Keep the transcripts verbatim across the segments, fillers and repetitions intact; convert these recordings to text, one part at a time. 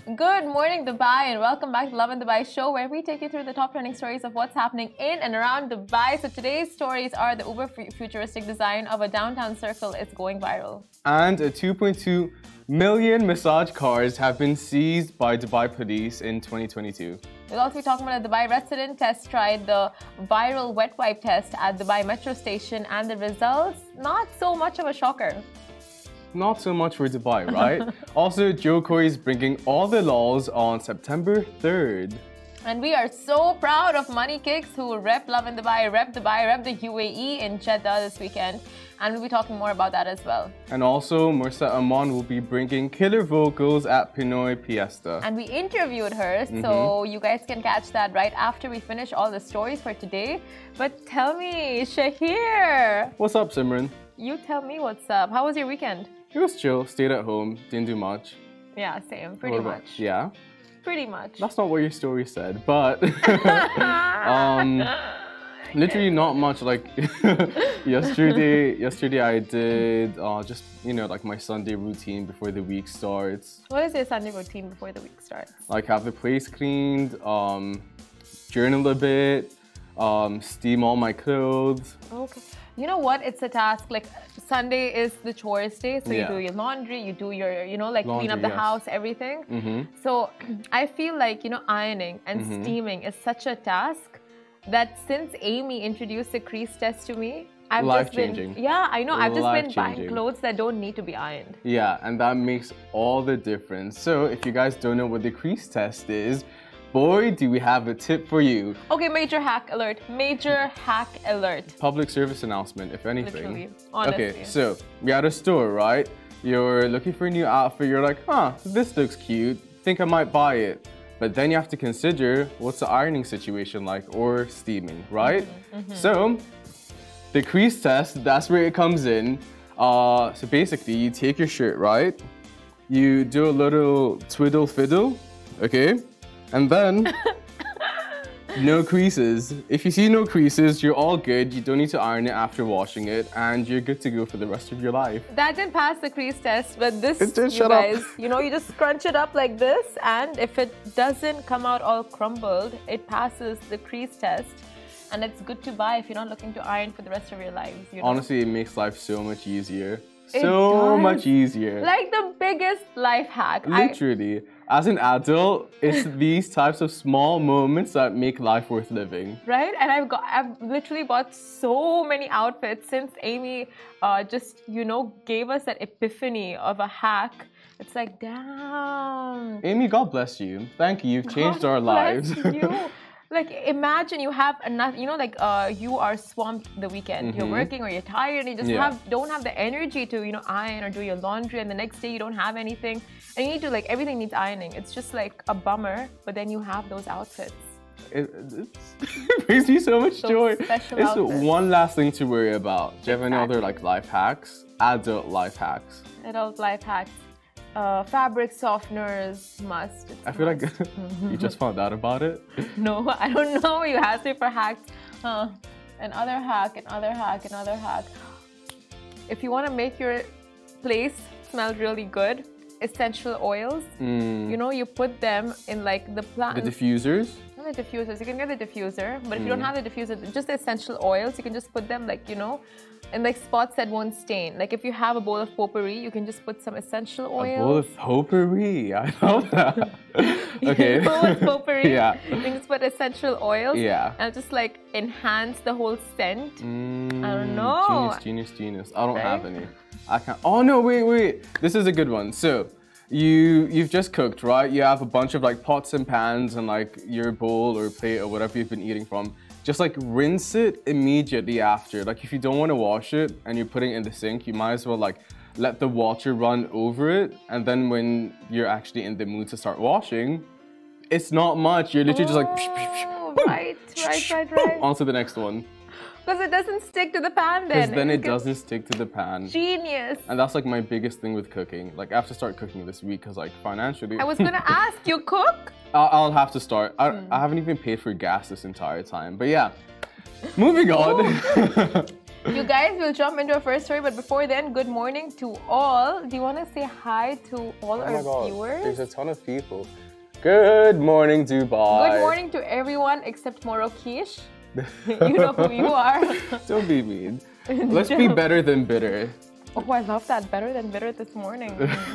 Good morning, Dubai, and welcome back to Love in Dubai show, where we take you through the top trending stories of what's happening in and around Dubai. So today's stories are the uber futuristic design of a downtown circle is going viral. And a two point two million massage cars have been seized by Dubai police in twenty twenty-two. We'll also be talking about a Dubai resident test tried the viral wet wipe test at Dubai metro station, and the results, not so much of a shocker. Not so much for Dubai, right? Also, Jo Koy is bringing all the laws on September third. And we are so proud of Money Kicks, who rep Love in Dubai, rep Dubai, rep the U A E in Jeddah this weekend. And we'll be talking more about that as well. And also, Mursa Aman will be bringing killer vocals at Pinoy Fiesta. And we interviewed her, mm-hmm. so you guys can catch that right after we finish all the stories for today. But tell me, Shahir. What's up, Simran? You tell me what's up. How was your weekend? It was chill, stayed at home, didn't do much. Yeah, same, pretty much. Yeah? Pretty much. That's not what your story said, but um, literally not much. Like yesterday, yesterday I did uh, just, you know, like my Sunday routine before the week starts. What is your Sunday routine before the week starts? Like have the place cleaned, um, journal a bit, um, steam all my clothes. Okay. You know what? It's a task. Like Sunday is the chores day, so Yeah. you do your laundry, you do your, you know, like Laundry, clean up the yes. house, everything. Mm-hmm. So I feel like, you know, ironing and Mm-hmm. steaming is such a task that since Amy introduced the crease test to me, I've just been, Life-changing. yeah, I know, I've just been buying Life-changing. clothes that don't need to be ironed. Yeah, and that makes all the difference. So if you guys don't know what the crease test is, boy, do we have a tip for you. Okay, major hack alert. Major hack alert. Public service announcement, if anything. Literally, honestly. Okay, so you're at a store, right? You're looking for a new outfit. You're like, huh, this looks cute. Think I might buy it. But then you have to consider what's the ironing situation like, or steaming, right? Mm-hmm, mm-hmm. So the crease test, that's where it comes in. Uh, so basically, you take your shirt, right? You do a little twiddle fiddle, okay? And then, no creases. If you see no creases, you're all good. You don't need to iron it after washing it, and you're good to go for the rest of your life. That didn't pass the crease test, but this, It did, you shut up. guys, you know, you just scrunch it up like this, and if it doesn't come out all crumbled, it passes the crease test, and it's good to buy if you're not looking to iron for the rest of your lives. You know? Honestly, it makes life so much easier. It So does. much easier. Like the biggest life hack. I, Literally. As an adult, it's these types of small moments that make life worth living. right? And I've got, I've literally bought so many outfits since Amy uh, just, you know, gave us that epiphany of a hack. It's like, damn. Amy, God bless you. Thank you. You've changed God our lives. bless you. Like, imagine you have enough, you know, like uh, you are swamped the weekend. You're working or you're tired and you just Yeah. have don't have the energy to, you know, iron or do your laundry, and the next day you don't have anything. And you need to, like, everything needs ironing. It's just like a bummer, but then you have those outfits. It, it's, it brings me so much Those joy. special It's outfits. one last thing to worry about. Do you have any other Exactly. like life hacks? Adult life hacks. Adult life hacks. Uh, fabric softeners must. It's I feel like must. you just found out about it. No, I don't know. You asked me for hacks. Huh. Another hack, another hack, another hack. If you want to make your place smell really good, essential oils, Mm. you know, you put them in like the plant. The diffusers. Not the diffusers. You can get the diffuser, but if you don't Mm. have the diffuser, just the essential oils, you can just put them like, you know, in like spots that won't stain. Like if you have a bowl of potpourri, you can just put some essential A oils. bowl of potpourri. I love that. okay. A bowl of potpourri. Yeah. You can just put essential oils. Yeah. And just like enhance the whole scent. Mm, I don't know. Genius, genius, genius. I don't Right? have any. I can't. Oh no! Wait, wait. This is a good one. So, you you've just cooked, right? You have a bunch of like pots and pans and like your bowl or plate or whatever you've been eating from. Just like rinse it immediately after. Like if you don't want to wash it and you're putting it in the sink, you might as well like let the water run over it, and then when you're actually in the mood to start washing, it's not much. You're literally just like Oh, right, right, right, right. onto the next one. Because it doesn't stick to the pan then. Because then it gets doesn't stick to the pan. Genius. And that's like my biggest thing with cooking. Like I have to start cooking this week because like financially, I was gonna ask, you cook? I'll, I'll have to start. I, Hmm. I haven't even paid for gas this entire time. But yeah, moving on. You guys will jump into our first story, but before then, good morning to all. Do you want to say hi to all oh our my God, viewers? There's a ton of people. Good morning, Dubai. Good morning to everyone except Morokish. You know who you are. Don't be mean. Let's be better than bitter. Oh, I love that. Better than bitter this morning.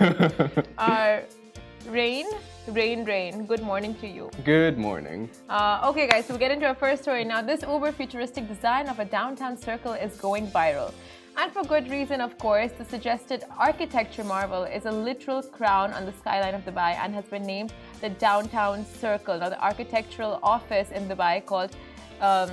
uh, Rain, Rain, Rain. Good morning to you. Good morning. Uh, okay, guys, so we get into our first story. Now, this uber futuristic design of a downtown circle is going viral. And for good reason, of course. The suggested architecture marvel is a literal crown on the skyline of Dubai and has been named the Downtown Circle. Now, the architectural office in Dubai called, um,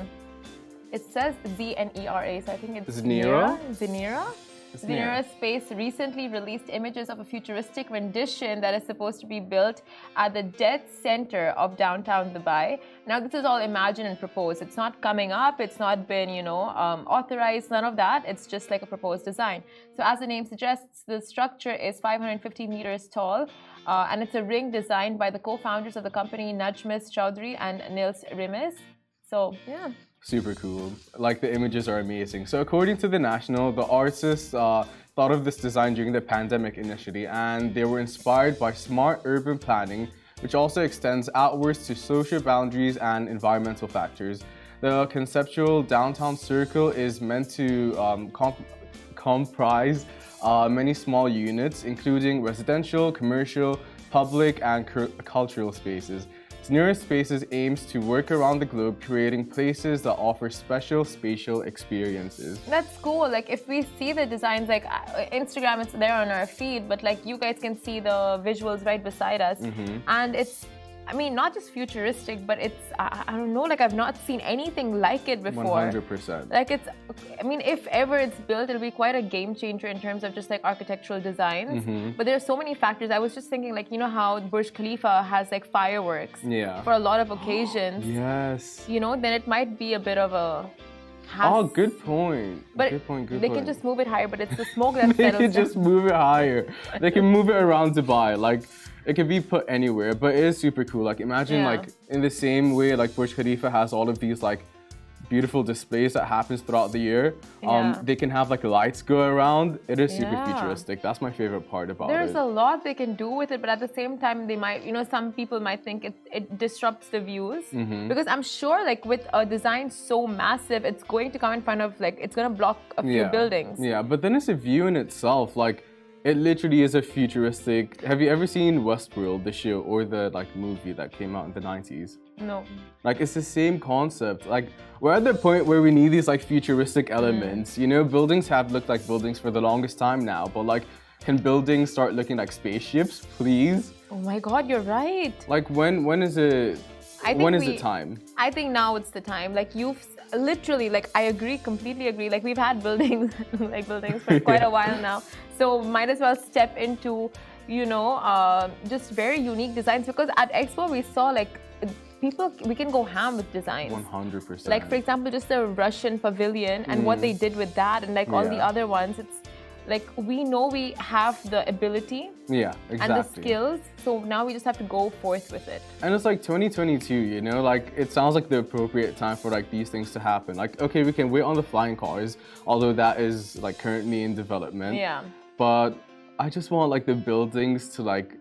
it says Z N E R A, so I think it's Zenira? Zenira? Zenira Space recently released images of a futuristic rendition that is supposed to be built at the dead center of downtown Dubai. Now, this is all imagined and proposed. It's not coming up. It's not been, you know, um, authorized. None of that. It's just like a proposed design. So, as the name suggests, the structure is five hundred fifty meters tall, uh, and it's a ring designed by the co-founders of the company, Najmis Chowdhury and Nils Rimes. So, yeah. Super cool. Like, the images are amazing. So according to The National, the artists uh, thought of this design during the pandemic initially, and they were inspired by smart urban planning, which also extends outwards to social boundaries and environmental factors. The conceptual downtown circle is meant to um, comp comprise uh, many small units, including residential, commercial, public, and cultural spaces. Zenira Spaces aims to work around the globe, creating places that offer special spatial experiences. That's cool. Like, if we see the designs, like uh, Instagram, it's there on our feed, but like you guys can see the visuals right beside us. Mm-hmm. And it's, I mean, not just futuristic, but it's, I, I don't know, like I've not seen anything like it before. one hundred percent. Like it's, I mean, if ever it's built, it'll be quite a game changer in terms of just like architectural designs. Mm-hmm. But there are so many factors. I was just thinking, like, you know how Burj Khalifa has like fireworks Yeah. for a lot of occasions. Yes. You know, then it might be a bit of a... Oh, good point. But good point, good they point. can just move it higher, but it's the smoke that They settles can just down. move it higher. They can move it around Dubai. Like, it can be put anywhere, but it is super cool. Like, imagine Yeah. like in the same way like Burj Khalifa has all of these like beautiful displays that happens throughout the year. Um, Yeah. they can have like lights go around. It is super Yeah. futuristic. That's my favorite part about There's it. a lot they can do with it, but at the same time, they might, you know, some people might think it, it disrupts the views. Mm-hmm. Because I'm sure, like, with a design so massive, it's going to come in front of, like, it's going to block a few yeah. buildings. Yeah, but then it's a view in itself. Like, it literally is a futuristic. Have you ever seen Westworld, the show, or the like movie that came out in the nineties? No. Like, it's the same concept. Like, we're at the point where we need these like futuristic elements. You know, buildings have looked like buildings for the longest time now, but like, can buildings start looking like spaceships, please? Oh my God, you're right. Like, when when is it? I think when is we- the time? I think now it's the time. Like, you've literally, like, I agree, completely agree. Like, we've had buildings, like buildings for quite a while now. So might as well step into, you know, uh, just very unique designs. Because at Expo, we saw like people, we can go ham with designs. one hundred percent. Like, for example, just the Russian pavilion and what they did with that, and like all the Yeah. other ones. It's like, we know we have the ability Yeah, exactly. and the skills. So now we just have to go forth with it. And it's like twenty twenty-two, you know, like it sounds like the appropriate time for like these things to happen. Like, okay, we can wait on the flying cars, although that is like currently in development. Yeah. But I just want like the buildings to like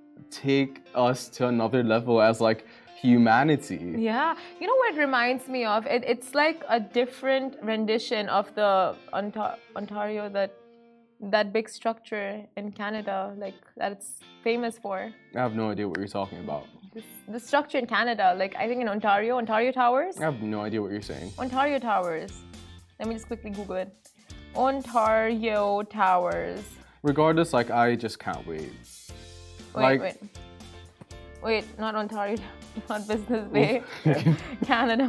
take us to another level as like humanity. Yeah, you know what it reminds me of? It, it's like a different rendition of the Onta- Ontario, that that big structure in Canada, like that it's famous for. I have no idea what you're talking about. This, the structure in Canada, like I think in Ontario, Ontario Towers. I have no idea what you're saying. Ontario Towers. Let me just quickly Google it. Ontario Towers. Regardless, like I just can't wait. Wait, Like- wait. Wait, not Ontario, not Business Bay. Canada.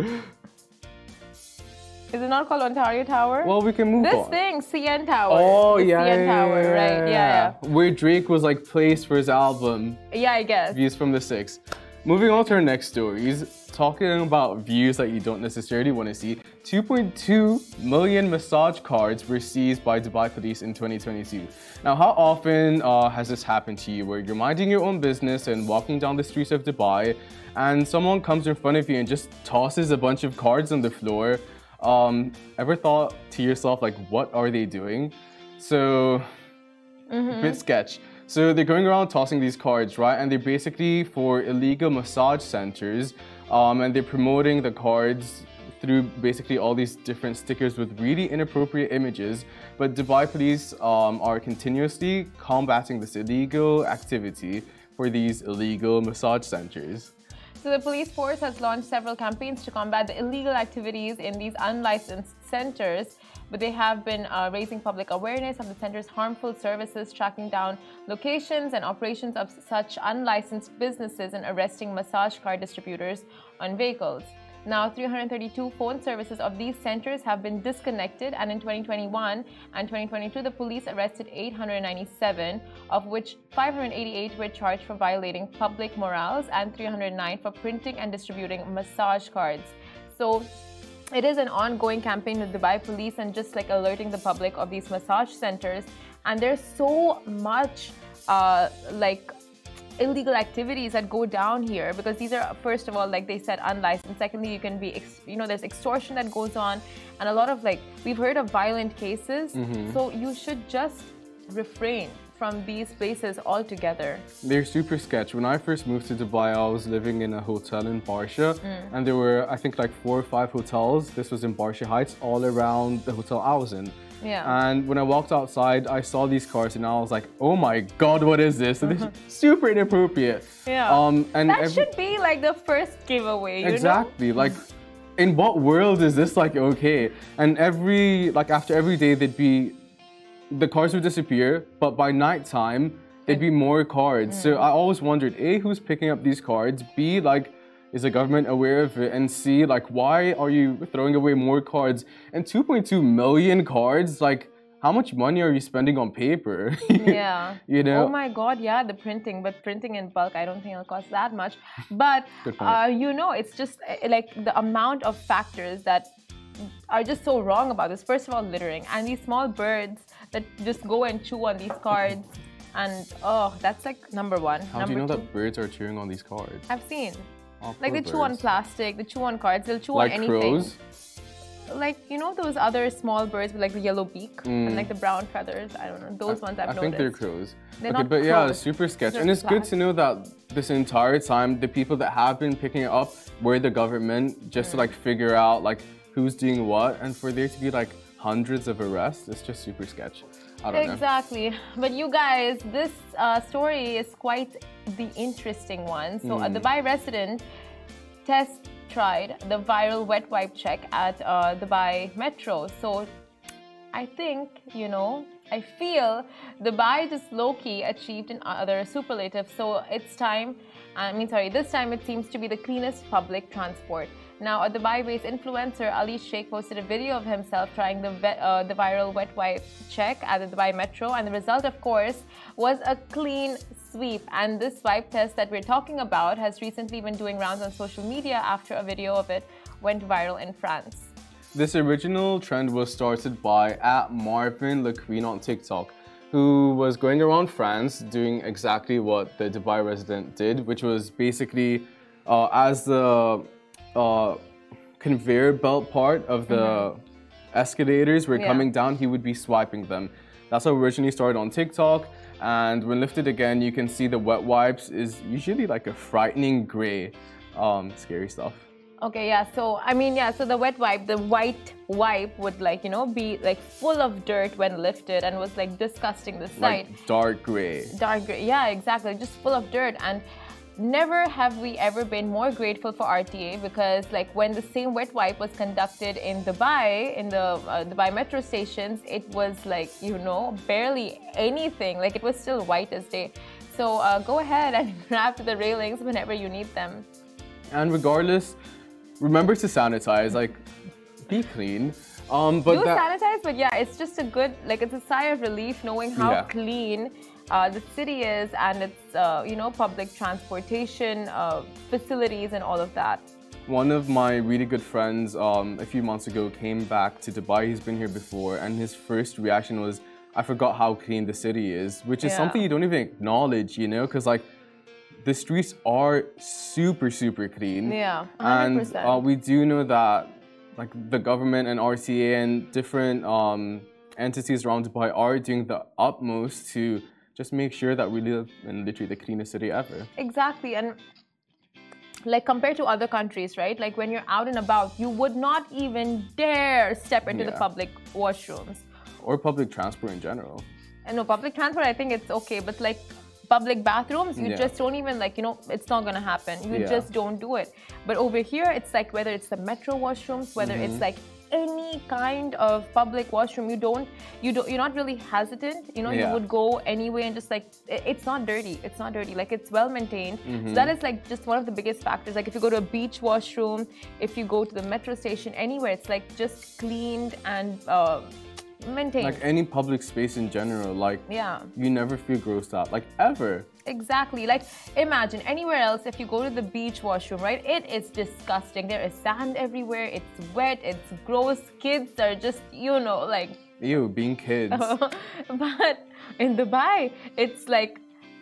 Is it not called Ontario Tower? Well, we can move This on. thing, C N Tower. Oh, the yeah, C N yeah, Tower, yeah, right? Yeah, yeah. Where Drake was like placed for his album. Yeah, I guess. Views from the six. Moving on to our next stories, talking about views that you don't necessarily want to see. two point two million massage cards were seized by Dubai police in twenty twenty-two. Now, how often uh, has this happened to you where you're minding your own business and walking down the streets of Dubai and someone comes in front of you and just tosses a bunch of cards on the floor? Um, ever thought to yourself, like, what are they doing? So, Mm-hmm. a bit sketch. So they're going around tossing these cards, right? And they're basically for illegal massage centers, um, and they're promoting the cards through basically all these different stickers with really inappropriate images. But Dubai police um, are continuously combating this illegal activity for these illegal massage centers. So the police force has launched several campaigns to combat the illegal activities in these unlicensed centers, but they have been uh, raising public awareness of the center's harmful services, tracking down locations and operations of such unlicensed businesses, and arresting massage card distributors on vehicles. Now, three hundred thirty-two phone services of these centers have been disconnected, and in twenty twenty-one and twenty twenty-two, the police arrested eight hundred ninety-seven, of which five hundred eighty-eight were charged for violating public morals and three hundred nine for printing and distributing massage cards. So it is an ongoing campaign with Dubai police and just like alerting the public of these massage centers. And there's so much uh, like illegal activities that go down here, because these are, first of all, like they said, unlicensed. Secondly, you can be, you know, there's extortion that goes on, and a lot of, like, we've heard of violent cases. Mm-hmm. So you should just refrain from these places altogether. They're super sketch. When I first moved to Dubai, I was living in a hotel in Barsha, mm. and there were, I think, like four or five hotels. This was in Barsha Heights, all around the hotel I was in. Yeah. And when I walked outside, I saw these cars, and I was like, "Oh my God, what is this?" So this is super inappropriate. Yeah. Um, and that every... should be like the first giveaway. You exactly. know? Like, in what world is this like okay? And every like after every day, there'd be the cars would disappear, but by nighttime, there'd be more cards. Mm. So I always wondered, A, who's picking up these cards? B, like, is the government aware of it? And C, like, why are you throwing away more cards? And two point two million cards, like, how much money are you spending on paper? Yeah. You know? Oh my God, yeah, the printing, but printing in bulk, I don't think it'll cost that much. But, uh, you know, it's just uh, like the amount of factors that are just so wrong about this. First of all, littering, and these small birds that just go and chew on these cards. And, oh, that's like number one. How number do you know two, that birds are chewing on these cards? I've seen. Oh, like they birds. chew on plastic, they chew on cards, they'll chew like on anything. Crows? Like, you know those other small birds with like the yellow beak mm. and like the brown feathers? I don't know. Those I, ones I've I noticed. I think they're crows. They're okay, not but crows. yeah, super sketch. They're and it's good to plastic. know that this entire time, the people that have been picking it up were the government, just mm. to like figure out like who's doing what, and for there to be like hundreds of arrests, it's just super sketch. I don't exactly. know. But you guys, this uh, story is quite the interesting one. So, mm. a Dubai resident test tried the viral wet wipe check at uh, Dubai Metro. So, I think, you know, I feel Dubai just low-key achieved another superlative. So, it's time, I mean, sorry, this time it seems to be the cleanest public transport. Now, a Dubai-based influencer, Ali Sheikh, posted a video of himself trying the, uh, the viral wet wipe check at the Dubai Metro, and the result, of course, was a clean sweep. And this wipe test that we're talking about has recently been doing rounds on social media after a video of it went viral in France. This original trend was started by at Marvin Le Queen on TikTok, who was going around France doing exactly what the Dubai resident did, which was basically uh, as the Uh, conveyor belt part of the mm-hmm. escalators were yeah. coming down, he would be swiping them. That's how it originally started on TikTok, and when lifted again, you can see the wet wipes is usually like a frightening gray. Um, scary stuff. Okay, yeah, so I mean, yeah, so the wet wipe, the white wipe would like, you know, be like full of dirt when lifted and was like disgusting the sight. Like dark gray. Dark gray, yeah, exactly, just full of dirt. And never have we ever been more grateful for R T A, because like when the same wet wipe was conducted in Dubai, in the uh, Dubai metro stations, it was like, you know, barely anything. Like it was still white as day. So uh, go ahead and grab to the railings whenever you need them. And regardless, remember to sanitize, like be clean. Um, but Do that... sanitize, but yeah, it's just a good, like it's a sigh of relief knowing how yeah. clean Uh, the city is, and its, uh, you know, public transportation uh, facilities and all of that. One of my really good friends um, a few months ago came back to Dubai. He's been here before, and his first reaction was, I forgot how clean the city is, which is yeah. something you don't even acknowledge, you know, because like the streets are super, super clean. Yeah, one hundred percent. And uh, we do know that like the government and R C A and different um, entities around Dubai are doing the utmost to just make sure that we live in literally the cleanest city ever. Exactly. And like compared to other countries, right? Like when you're out and about, you would not even dare step into Yeah. the public washrooms. Or public transport in general. And no, public transport, I think it's okay. But like public bathrooms, you Yeah. just don't even like, you know, it's not going to happen. You Yeah. just don't do it. But over here, it's like whether it's the metro washrooms, whether Mm-hmm. it's like any kind of public washroom, you don't, you don't, you're not really hesitant. You know, Yeah. you would go anyway and just like, it- it's not dirty. It's not dirty. Like it's well maintained. Mm-hmm. So that is like just one of the biggest factors. Like if you go to a beach washroom, if you go to the metro station, anywhere, it's like just cleaned and uh, maintained. Like any public space in general, like Yeah. you never feel grossed out, like ever. Exactly. Like, imagine anywhere else, if you go to the beach washroom, right? It is disgusting. There is sand everywhere. It's wet. It's gross. Kids are just, you know, like. Ew, being kids. But in Dubai, it's like,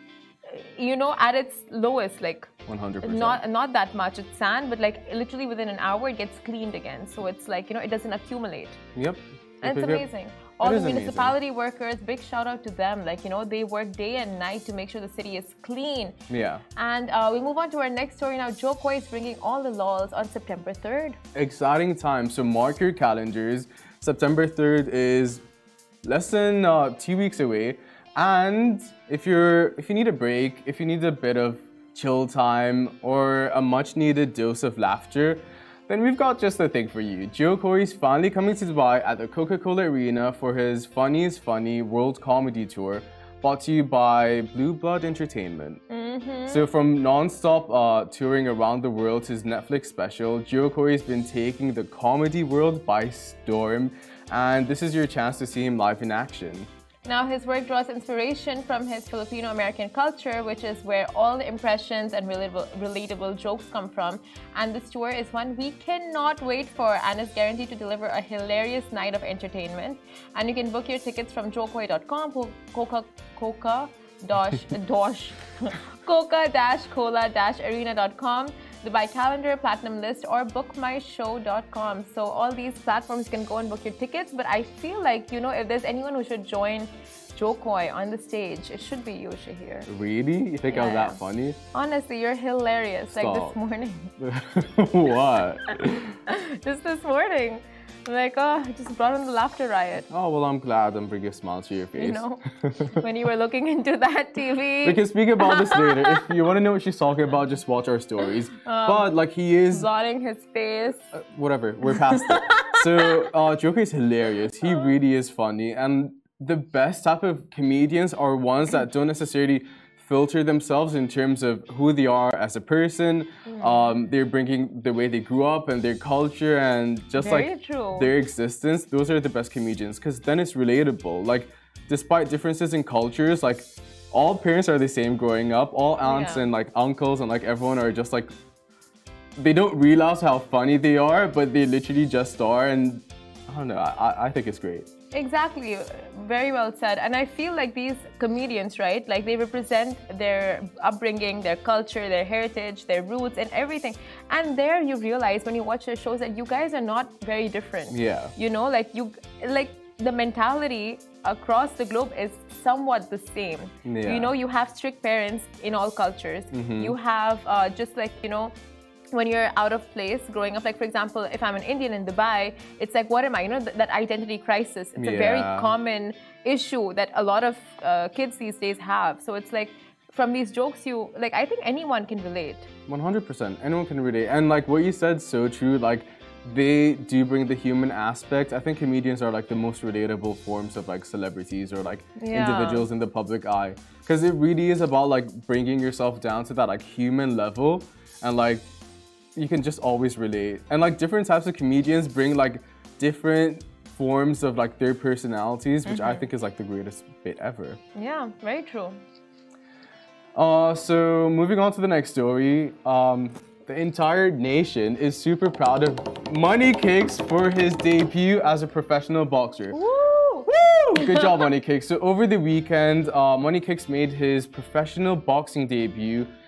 you know, at its lowest, like. one hundred percent. Not not that much. It's sand, but like literally within an hour, it gets cleaned again. So it's like, you know, it doesn't accumulate. Yep. And it's Yep, yep. amazing. All It the is amazing. municipality workers, big shout out to them. Like, you know, they work day and night to make sure the city is clean. Yeah. And uh, we move on to our next story now. Jo Koy is bringing all the laws on September third. Exciting time. So mark your calendars. September third is less than uh, two weeks away. And if you're if you need a break, if you need a bit of chill time or a much needed dose of laughter, then we've got just the thing for you. Jo Koy is finally coming to Dubai at the Coca-Cola Arena for his Funniest Funny World Comedy Tour, brought to you by Blue Blood Entertainment. Mm-hmm. So from non-stop uh, touring around the world to his Netflix special, Jo Koy has been taking the comedy world by storm, and this is your chance to see him live in action. Now, his work draws inspiration from his Filipino-American culture, which is where all the impressions and relatable, relatable jokes come from. And this tour is one we cannot wait for and is guaranteed to deliver a hilarious night of entertainment. And you can book your tickets from jo koy dot com, Coca Coca dash dash Coca dash Cola dash Arena dot com, Dubai Calendar, Platinum List, or book my show dot com. So all these platforms you can go and book your tickets. But I feel like, you know, if there's anyone who should join Jo Koy on the stage, it should be you, Shahir. Really? You think I was Yeah. that funny? Honestly, you're hilarious. Like this Stop. morning. What? Just this morning. Like, oh, I just brought on the laughter riot. Oh, well, I'm glad I'm bringing a smile to your face. You know, when you were looking into that T V. We can speak about this later. If you want to know what she's talking about, just watch our stories. Um, but, like, he is... Blotting his face. Uh, whatever, we're past it. So, uh, Jo Koy is hilarious. He really is funny. And the best type of comedians are ones that don't necessarily filter themselves in terms of who they are as a person. Um, they're bringing the way they grew up and their culture and just Very like true. their existence. Those are the best comedians because then it's relatable. Like, despite differences in cultures, like all parents are the same growing up. All aunts Yeah. and like uncles and like everyone are just like, they don't realize how funny they are, but they literally just are. And I don't know, I, I think it's great. Exactly. Very well said. And I feel like these comedians, right? Like they represent their upbringing, their culture, their heritage, their roots, and everything. And there you realize when you watch their shows that you guys are not very different. Yeah. You know, like you, like the mentality across the globe is somewhat the same. Yeah. You know, you have strict parents in all cultures. Mm-hmm. You have uh, just like, you know, when you're out of place growing up, like for example, if I'm an Indian in Dubai, it's like, what am I? You know, th that identity crisis. It's a very Yeah. common issue that a lot of uh, kids these days have. So it's like, from these jokes, you like, I think anyone can relate. one hundred percent. Anyone can relate. And like what you said, so true. Like they do bring the human aspect. I think comedians are like the most relatable forms of like celebrities or like Yeah. individuals in the public eye. Because it really is about like bringing yourself down to that like human level and like you can just always relate. And like different types of comedians bring like different forms of like their personalities, which I think is like the greatest bit ever. Yeah, very true. Uh, so moving on to the next story, um, the entire nation is super proud of Money Kicks for his debut as a professional boxer. Woo! Woo! Good job, Money Kicks. So over the weekend, uh, Money Kicks made his professional boxing debut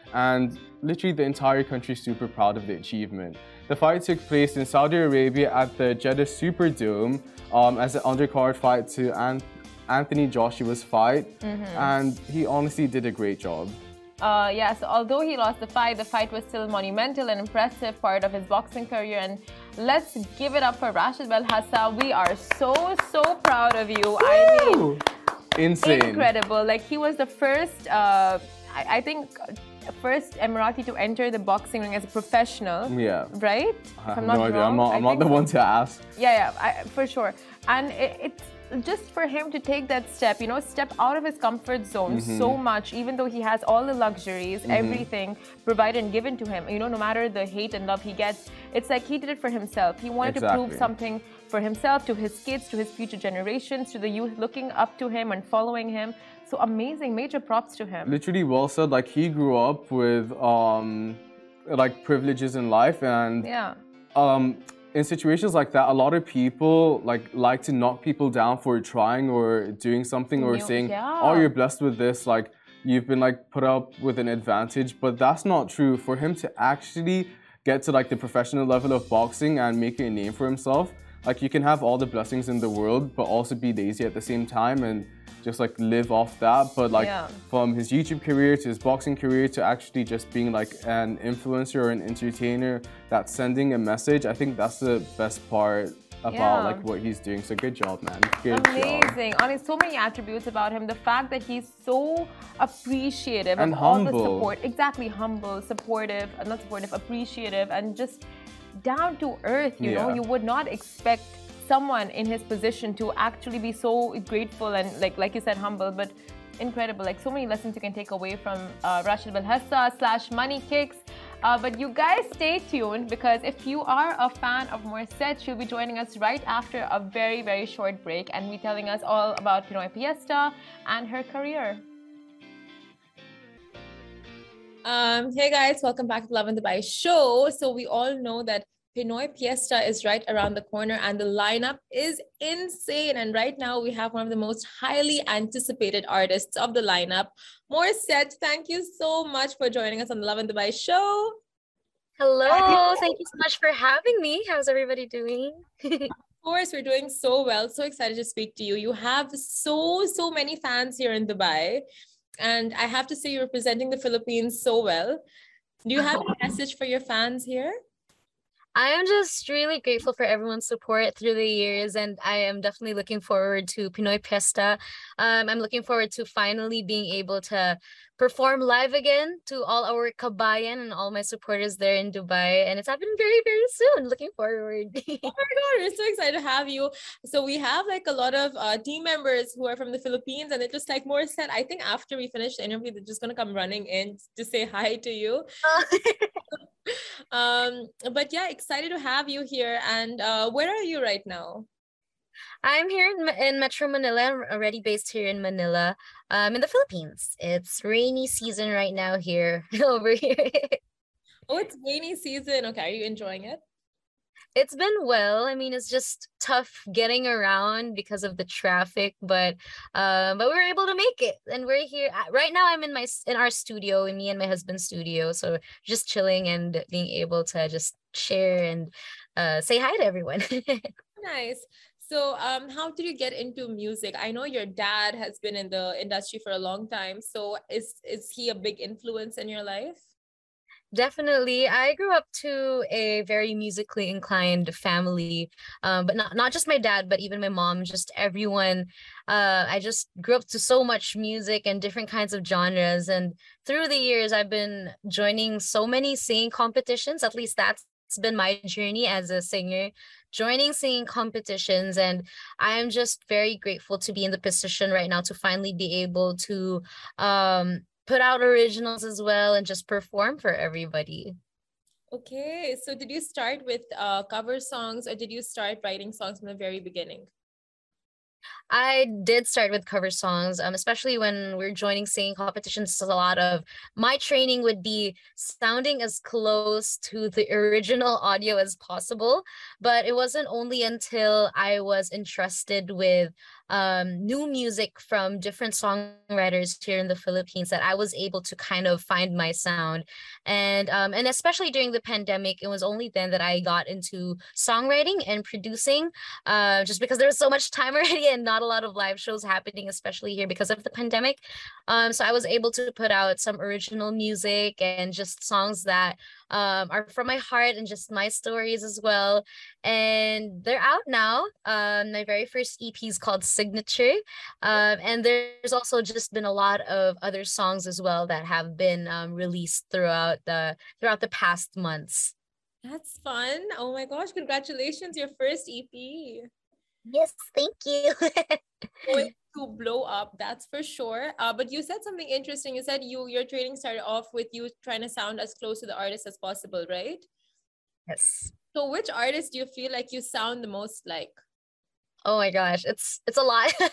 and literally the entire country is super proud of the achievement. The fight took place in Saudi Arabia at the Jeddah Superdome um, as an undercard fight to An- Anthony Joshua's fight, mm-hmm. and he honestly did a great job. Uh, yeah, so although he lost the fight, the fight was still monumental and impressive part of his boxing career. And let's give it up for Rashid Belhassa. We are so, so proud of you. Woo! I mean, insane. Incredible. Like, he was the first, uh, I, I think, first Emirati to enter the boxing ring as a professional. Yeah. Right? I have no idea. I'm not, I'm not the one to ask. Yeah, yeah, I, for sure. And it, it's just for him to take that step, you know, step out of his comfort zone mm-hmm. so much, even though he has all the luxuries, mm-hmm. everything provided and given to him. You know, no matter the hate and love he gets, it's like he did it for himself. He wanted exactly. to prove something for himself, to his kids, to his future generations, to the youth looking up to him and following him. So amazing, major props to him. Literally well said. Like, he grew up with um, like privileges in life, and yeah. um, in situations like that, a lot of people like like to knock people down for trying or doing something, or you, saying, yeah. "Oh, you're blessed with this." Like, you've been like put up with an advantage, but that's not true. For him to actually get to like the professional level of boxing and make a name for himself, like, you can have all the blessings in the world, but also be lazy at the same time and just like live off that. But like yeah. from his YouTube career to his boxing career to actually just being like an influencer or an entertainer that's sending a message, I think that's the best part about yeah. like what he's doing. So good job, man. Good Amazing. job. I mean, so many attributes about him. The fact that he's so appreciative and of humble. all the support. Exactly, humble, supportive, uh, not supportive, appreciative, and just down to earth, you yeah. know. You would not expect someone in his position to actually be so grateful and like like you said, humble, but incredible. Like, so many lessons you can take away from uh, Rashid Belhassa slash Money Kicks. Uh, but you guys stay tuned, because if you are a fan of Morissette, she'll be joining us right after a very, very short break and be telling us all about Pinoy Fiesta and her career. Um, hey guys, welcome back to Lovin Dubai show. So we all know that Pinoy Fiesta is right around the corner and the lineup is insane. And right now we have one of the most highly anticipated artists of the lineup, Morissette. Thank you so much for joining us on the Lovin Dubai show. Hello, thank you so much for having me. How's everybody doing? Of course, we're doing so well. So excited to speak to you. You have so, so many fans here in Dubai. And I have to say, you're representing the Philippines so well. Do you have a message for your fans here? I am just really grateful for everyone's support through the years, and I am definitely looking forward to Pinoy Fiesta. Um, I'm looking forward to finally being able to perform live again to all our kabayan and all my supporters there in Dubai, and it's happening very, very soon. Looking forward. Oh my God, we're so excited to have you. So we have like a lot of uh, team members who are from the Philippines, and they're just like Morissette, I think after we finish the interview, they're just gonna come running in to say hi to you. um, but yeah, excited to have you here. And uh, where are you right now? I'm here in, in Metro Manila. I'm already based here in Manila, um, in the Philippines. It's rainy season right now here, over here. Oh, it's rainy season. Okay, are you enjoying it? It's been well. I mean, it's just tough getting around because of the traffic, but um, but we were able to make it, and we're here right now. I'm in my in our studio, in me and my husband's studio, so just chilling and being able to just share and uh, say hi to everyone. Nice. So, um, how did you get into music? I know your dad has been in the industry for a long time. So, is is he a big influence in your life? Definitely. I grew up to a very musically inclined family, um, but not, not just my dad, but even my mom, just everyone. Uh, I just grew up to so much music and different kinds of genres. And through the years, I've been joining so many singing competitions. At least that's been my journey as a singer, joining singing competitions. And I'm just very grateful to be in the position right now to finally be able to um, put out originals as well and just perform for everybody. Okay, so did you start with uh, cover songs, or did you start writing songs from the very beginning? I did start with cover songs, um, especially when we're joining singing competitions. A lot of my training would be sounding as close to the original audio as possible. But it wasn't only until I was entrusted with um, new music from different songwriters here in the Philippines that I was able to kind of find my sound. And um, and especially during the pandemic, it was only then that I got into songwriting and producing, uh, just because there was so much time already and not a lot of live shows happening, especially here because of the pandemic. Um, so I was able to put out some original music and just songs that um, are from my heart and just my stories as well. And they're out now. Um, my very first E P is called Signature. Um, and there's also just been a lot of other songs as well that have been um, released throughout the throughout the past months. That's fun. Oh my gosh, congratulations, your first E P. Yes, thank you. Going to blow up, that's for sure. Uh, but you said something interesting. You said you your training started off with you trying to sound as close to the artist as possible, right? Yes. So which artist do you feel like you sound the most like? Oh my gosh, it's it's a lot. um,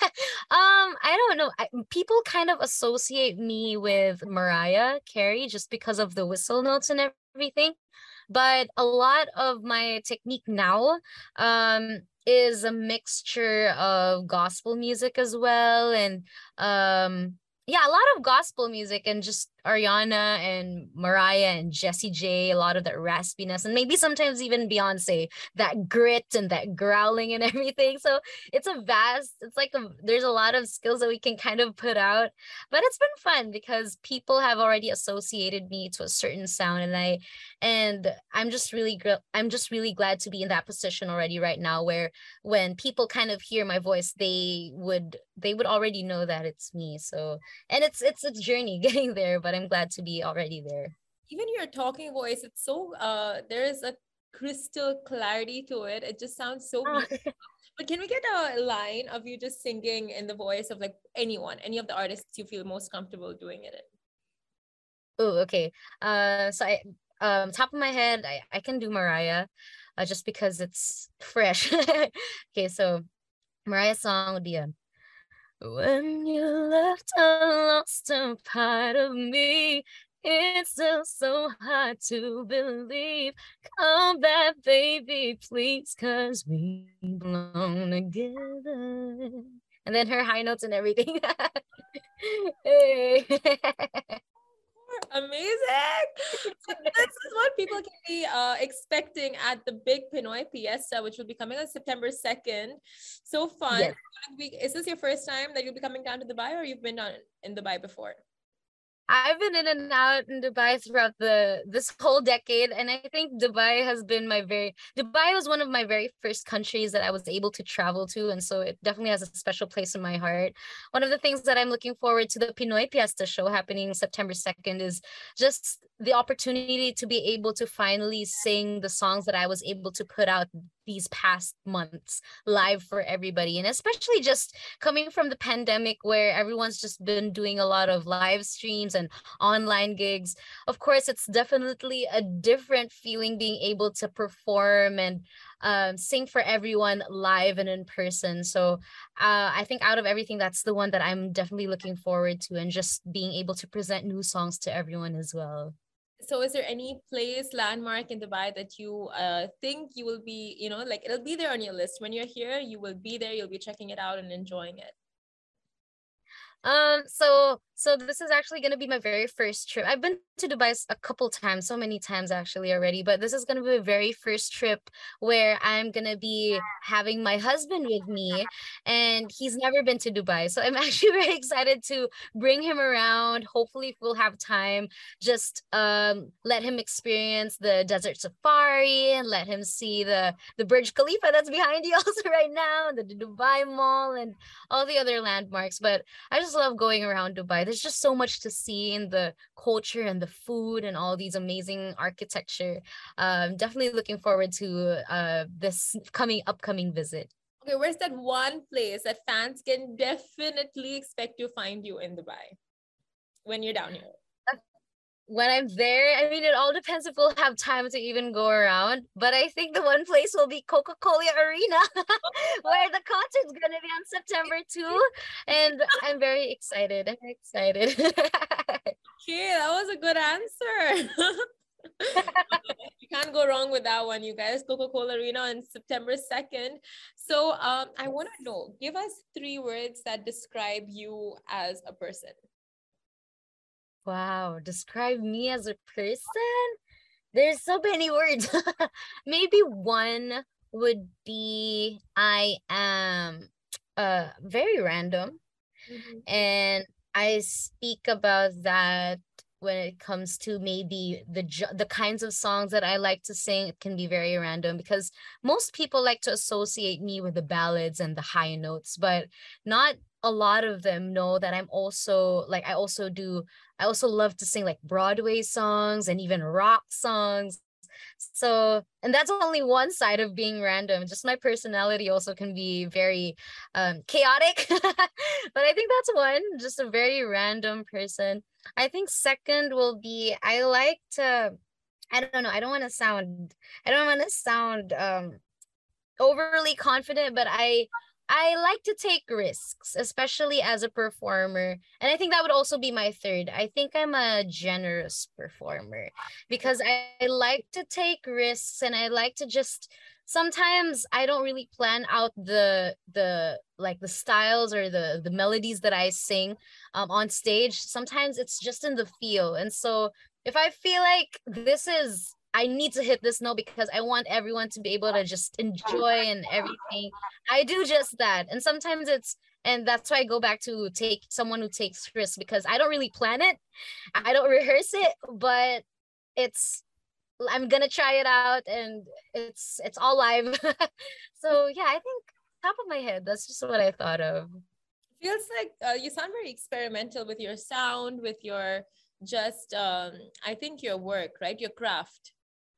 I don't know. I, people kind of associate me with Mariah Carey just because of the whistle notes and everything. But a lot of my technique now um is a mixture of gospel music as well, and um yeah, a lot of gospel music and just Ariana and Mariah and Jessie J, a lot of that raspiness, and maybe sometimes even Beyonce, that grit and that growling and everything. So it's a vast, it's like a, there's a lot of skills that we can kind of put out, but it's been fun because people have already associated me to a certain sound, and I and I'm just really gr- I'm just really glad to be in that position already right now, where when people kind of hear my voice, they would they would already know that it's me. So, and it's it's a journey getting there, but I'm glad to be already there. Even your talking voice, it's so uh there is a crystal clarity to it. It just sounds so beautiful. But can we get a line of you just singing in the voice of like anyone, any of the artists you feel most comfortable doing it in? Oh, okay. Uh, so I um top of my head, I I can do Mariah, uh, just because it's fresh. Okay, so Mariah's song would be a when you left, I lost a part of me. It's still so hard to believe. Come back, baby, please, cause we belong together. And then her high notes and everything. Hey. Amazing. So this is what people can be uh, expecting at the big Pinoy Fiesta, which will be coming on September second. So fun. Yes. Is this your first time that you'll be coming down to Dubai, or you've been down in Dubai before? I've been in and out in Dubai throughout the this whole decade, and I think Dubai has been my very Dubai was one of my very first countries that I was able to travel to, and so it definitely has a special place in my heart. One of the things that I'm looking forward to the Pinoy Fiesta show happening September second is just the opportunity to be able to finally sing the songs that I was able to put out these past months live for everybody, and especially just coming from the pandemic where everyone's just been doing a lot of live streams and online gigs. Of course, it's definitely a different feeling being able to perform and um, sing for everyone live and in person. So uh, I think out of everything, that's the one that I'm definitely looking forward to, and just being able to present new songs to everyone as well. So is there any place, landmark in Dubai that you uh, think you will be, you know, like it'll be there on your list when you're here, you will be there, you'll be checking it out and enjoying it? Um, so so this is actually gonna be my very first trip. I've been to Dubai s- a couple times, so many times actually already, but this is gonna be my very first trip where I'm gonna be having my husband with me, and he's never been to Dubai. So I'm actually very excited to bring him around. Hopefully, if we'll have time, just um let him experience the desert safari and let him see the the Burj Khalifa that's behind you also right now, the, the Dubai Mall and all the other landmarks. But I just love going around Dubai. There's just so much to see in the culture and the food and all these amazing architecture. Um, definitely looking forward to uh this coming upcoming visit. Okay, where's that one place that fans can definitely expect to find you in Dubai when you're down here? when I'm there, I mean, it all depends if we'll have time to even go around. But I think the one place will be Coca-Cola Arena, where the concert's gonna be on September second. And I'm very excited. I'm very excited. Okay, that was a good answer. You can't go wrong with that one, you guys. Coca-Cola Arena on September second. So um, I want to know, give us three words that describe you as a person. Wow, describe me as a person? There's so many words. Maybe one would be I am uh very random, Mhm. and I speak about that when it comes to maybe the jo- the kinds of songs that I like to sing. It can be very random because most people like to associate me with the ballads and the high notes, but not a lot of them know that I'm also like I also do I also love to sing like Broadway songs and even rock songs. So, and that's only one side of being random. Just my personality also can be very um, chaotic. But I think that's one, just a very random person. I think second will be I like to, I don't know, I don't want to sound, I don't want to sound um overly confident, but I I like to take risks, especially as a performer. And I think that would also be my third. I think I'm a generous performer because I, I like to take risks, and I like to just sometimes I don't really plan out the the like the styles or the the melodies that I sing um on stage. Sometimes it's just in the feel. And so if I feel like this is I need to hit this note because I want everyone to be able to just enjoy and everything, I do just that. And sometimes it's and that's why I go back to take someone who takes risks because I don't really plan it. I don't rehearse it, but it's I'm gonna try it out and it's it's all live. So yeah, I think top of my head, that's just what I thought of. Feels like uh, you sound very experimental with your sound, with your just, um, I think your work, right? Your craft.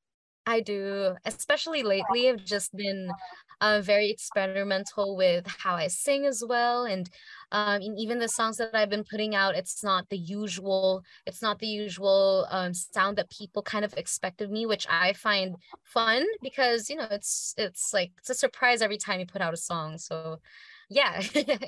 I do, especially lately. I've just been uh, very experimental with how I sing as well, and um, and even the songs that I've been putting out. It's not the usual. It's not the usual um, sound that people kind of expect of me, which I find fun because you know it's it's like it's a surprise every time you put out a song. So, yeah.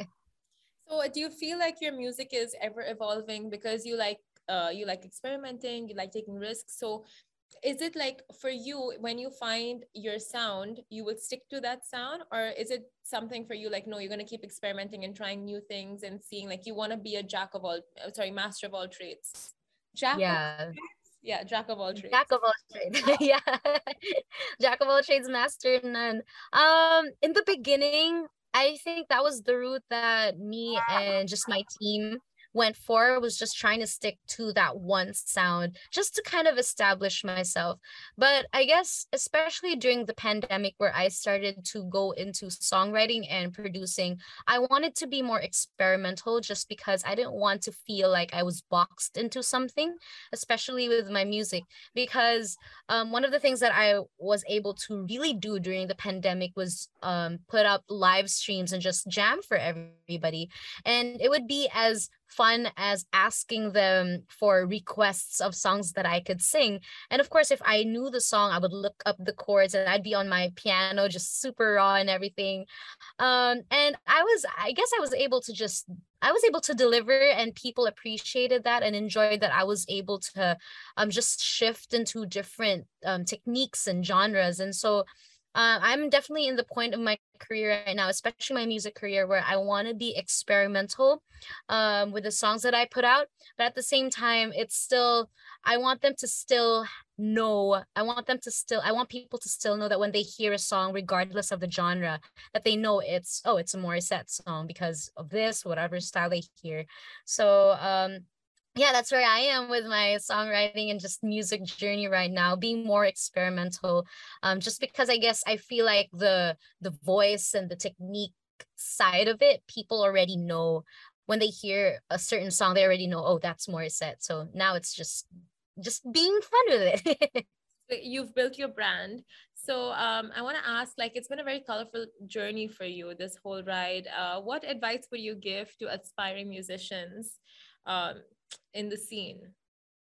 So do you feel like your music is ever evolving because you like uh, you like experimenting, you like taking risks? So is it like for you, when you find your sound, you will stick to that sound, or is it something for you like, no, you're going to keep experimenting and trying new things and seeing like you want to be a jack of all, uh, sorry, master of all trades? Jack of Yeah. yeah, jack of all trades. Jack of all trades. Yeah. Jack of all trades, master of none. Um, in the beginning, I think that was the route that me and just my team went for, was just trying to stick to that one sound just to kind of establish myself. But I guess especially during the pandemic where I started to go into songwriting and producing, I wanted to be more experimental just because I didn't want to feel like I was boxed into something, especially with my music. Because um, one of the things that I was able to really do during the pandemic was um, put up live streams and just jam for everybody. And it would be as fun as asking them for requests of songs that I could sing. And of course, if I knew the song, I would look up the chords and I'd be on my piano, just super raw and everything. Um, and I was, I guess I was able to just I was able to deliver, and people appreciated that and enjoyed that I was able to um just shift into different um techniques and genres. And so uh, I'm definitely in the point of my career right now, especially my music career, where I want to be experimental um with the songs that I put out. But at the same time, it's still I want them to still know I want them to still I want people to still know that when they hear a song, regardless of the genre, that they know it's oh it's a Morissette song because of this whatever style they hear. So um yeah, that's where I am with my songwriting and just music journey right now, being more experimental. Um just because I guess I feel like the the voice and the technique side of it, people already know. When they hear a certain song, they already know, oh, that's Morissette. So now it's just just being fun with it. You've built your brand. So um, I want to ask, like, it's been a very colorful journey for you, this whole ride. Uh, what advice would you give to aspiring musicians um, in the scene?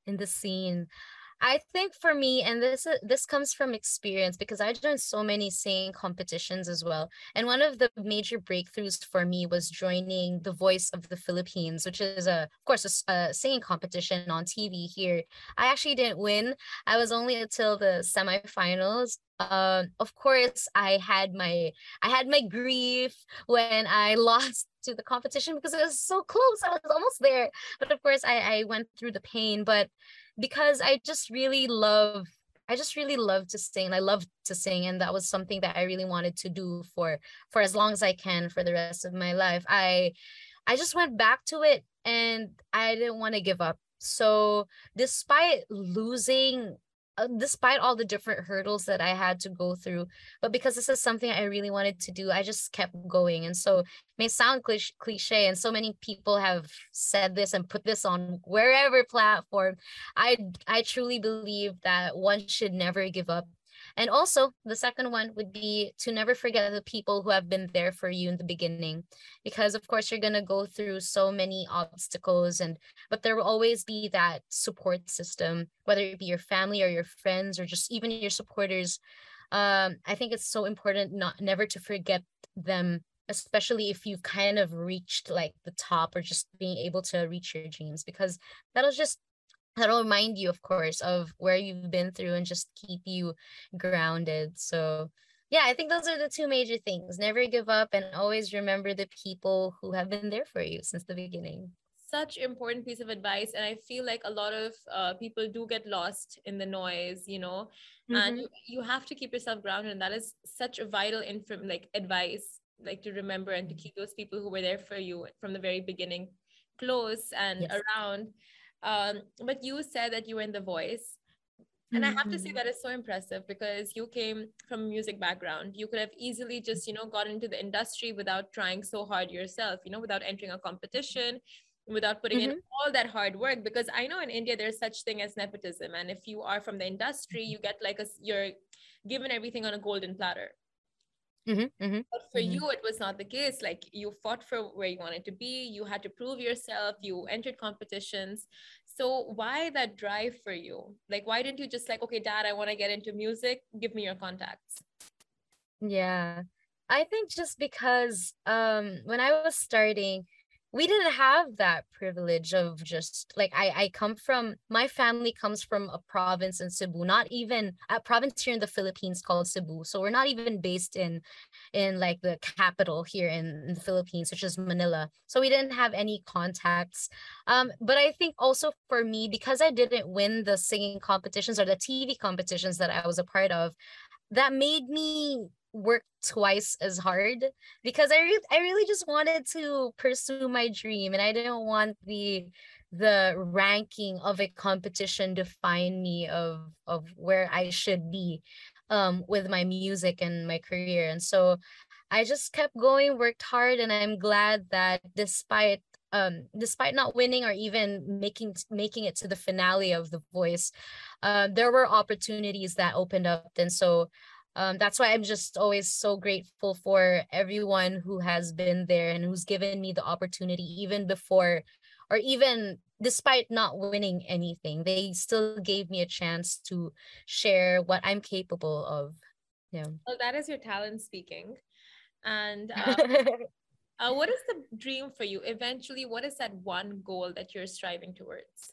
in the scene. I think for me, and this uh, this comes from experience because I've done so many singing competitions as well. And one of the major breakthroughs for me was joining The Voice of the Philippines, which is a, of course, a, s- a singing competition on T V here. I actually didn't win. I was only until the semifinals. Um, of course, I had my I had my grief when I lost to the competition because it was so close. I was almost there, but of course, I I went through the pain, but because I just really love I just really love to sing. I love to sing, and that was something that I really wanted to do for for as long as I can for the rest of my life. I I just went back to it and I didn't want to give up. So despite losing uh, despite all the different hurdles that I had to go through, but because this is something I really wanted to do, I just kept going. And so it may sound clich- cliche, and so many people have said this and put this on wherever platform. I I truly believe that one should never give up. And also, the second one would be to never forget the people who have been there for you in the beginning, because of course you're gonna go through so many obstacles, and but there will always be that support system, whether it be your family or your friends or just even your supporters. Um, I think it's so important not never to forget them, especially if you've kind of reached like the top or just being able to reach your dreams, because that'll just that'll remind you, of course, of where you've been through and just keep you grounded. So yeah, I think those are the two major things. Never give up and always remember the people who have been there for you since the beginning. Such important piece of advice, and I feel like a lot of uh, people do get lost in the noise, you know, and Mm-hmm. you, you have to keep yourself grounded, and that is such a vital inform like advice, like to remember and to keep those people who were there for you from the very beginning close and Yes. around. Um, but you said that you were in The Voice, and I have to say Mm-hmm. that is so impressive because you came from a music background. You could have easily just, you know, got into the industry without trying so hard yourself, you know, without entering a competition, without putting in Mm-hmm. all that hard work. Because I know in India there's such thing as nepotism, and if you are from the industry, you get like a you're given everything on a golden platter. Mm-hmm. But for Mm-hmm. you, it was not the case. Like you fought for where you wanted to be, you had to prove yourself, you entered competitions. So why that drive for you? Like, why didn't you just like, okay, dad, I want to get into music, give me your contacts? Yeah. I think just because um when I was starting, we didn't have that privilege of just like I I come from my family comes from a province in Cebu, not even a province here in the Philippines called Cebu. So we're not even based in in like the capital here in, in the Philippines, which is Manila. So we didn't have any contacts. Um, but I think also for me, because I didn't win the singing competitions or the T V competitions that I was a part of, that made me work twice as hard because I re- I really just wanted to pursue my dream, and I didn't want the the ranking of a competition define me of of where I should be um with my music and my career. And so I just kept going, worked hard, and I'm glad that despite um despite not winning or even making making it to the finale of The Voice, uh, there were opportunities that opened up. And so um, that's why I'm just always so grateful for everyone who has been there and who's given me the opportunity, even before or even despite not winning anything. They still gave me a chance to share what I'm capable of. Yeah. Well, that is your talent speaking. And uh, uh, what is the dream for you? Eventually, what is that one goal that you're striving towards?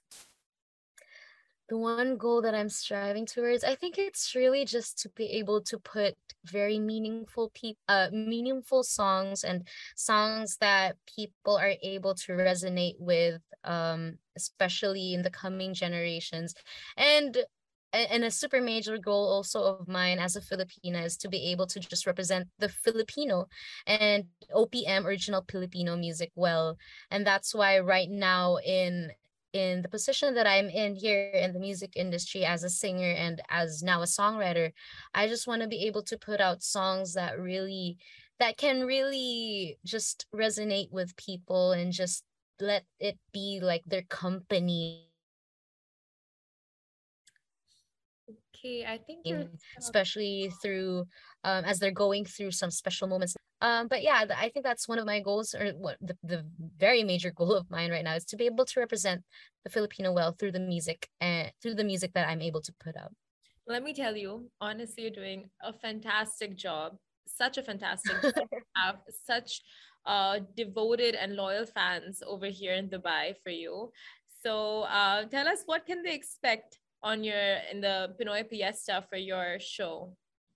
The one goal that I'm striving towards, I think it's really just to be able to put very meaningful peop uh meaningful songs and songs that people are able to resonate with, um, especially in the coming generations. And a- and a super major goal also of mine as a Filipina is to be able to just represent the Filipino and O P M, original Filipino music, well. And that's why right now in in the position that I'm in here in the music industry as a singer and as now a songwriter, I just want to be able to put out songs that really that can really just resonate with people and just let it be like their company, Okay, I think you're stuck. especially through um, as they're going through some special moments. Um, but yeah, I think that's one of my goals, or what the, the very major goal of mine right now is to be able to represent the Filipino well through the music and through the music that I'm able to put out. Let me tell you, honestly, you're doing a fantastic job. Such a fantastic job. You have such uh, devoted and loyal fans over here in Dubai for you. So uh, tell us, what can they expect on your in the Pinoy Fiesta for your show?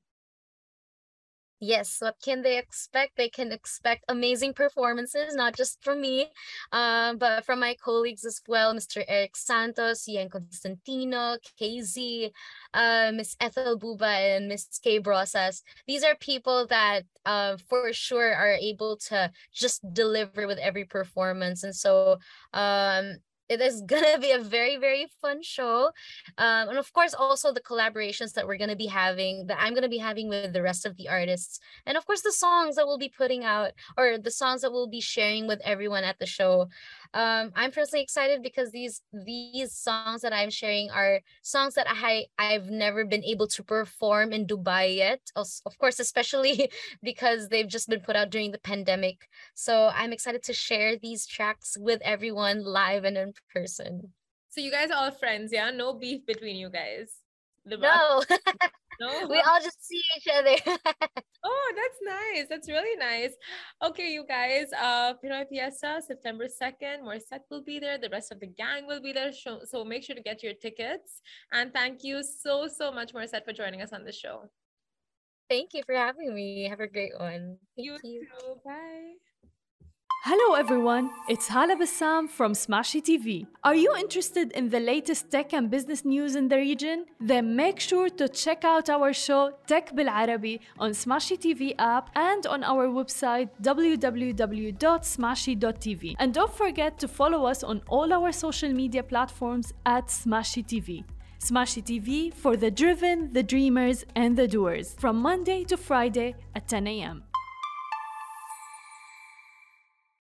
Yes, what can they expect? They can expect amazing performances, not just from me, um, but from my colleagues as well, Mister Eric Santos, Ian Constantino, K Z, uh, Miss Ethel Buba, and Miss Kay Brosas. These are people that uh, for sure are able to just deliver with every performance. And so um, it is gonna be a very, very fun show. Um, and of course, also the collaborations that we're gonna be having, that I'm gonna be having with the rest of the artists. And of course, the songs that we'll be putting out, or the songs that we'll be sharing with everyone at the show. Um, I'm personally excited because these these songs that I'm sharing are songs that I I've never been able to perform in Dubai yet. Of course, especially because they've just been put out during the pandemic. So I'm excited to share these tracks with everyone live and in person. So you guys are all friends, yeah? No beef between you guys. The No, no, we all just see each other. Oh, that's nice. That's really nice. Okay, you guys, uh, Pinoy Fiesta, September second, Morissette will be there. The rest of the gang will be there. So, so make sure to get your tickets. And thank you so, so much, Morissette, for joining us on the show. Thank you for having me. Have a great one. Thank You, you. too. Bye. Hello everyone, it's Hala Bassam from Smashy T V. Are you interested in the latest tech and business news in the region? Then make sure to check out our show Tech Bil Arabi on Smashy T V app and on our website w w w dot smashy dot t v. And don't forget to follow us on all our social media platforms at Smashy T V. Smashy T V for the driven, the dreamers, and the doers from Monday to Friday at ten a m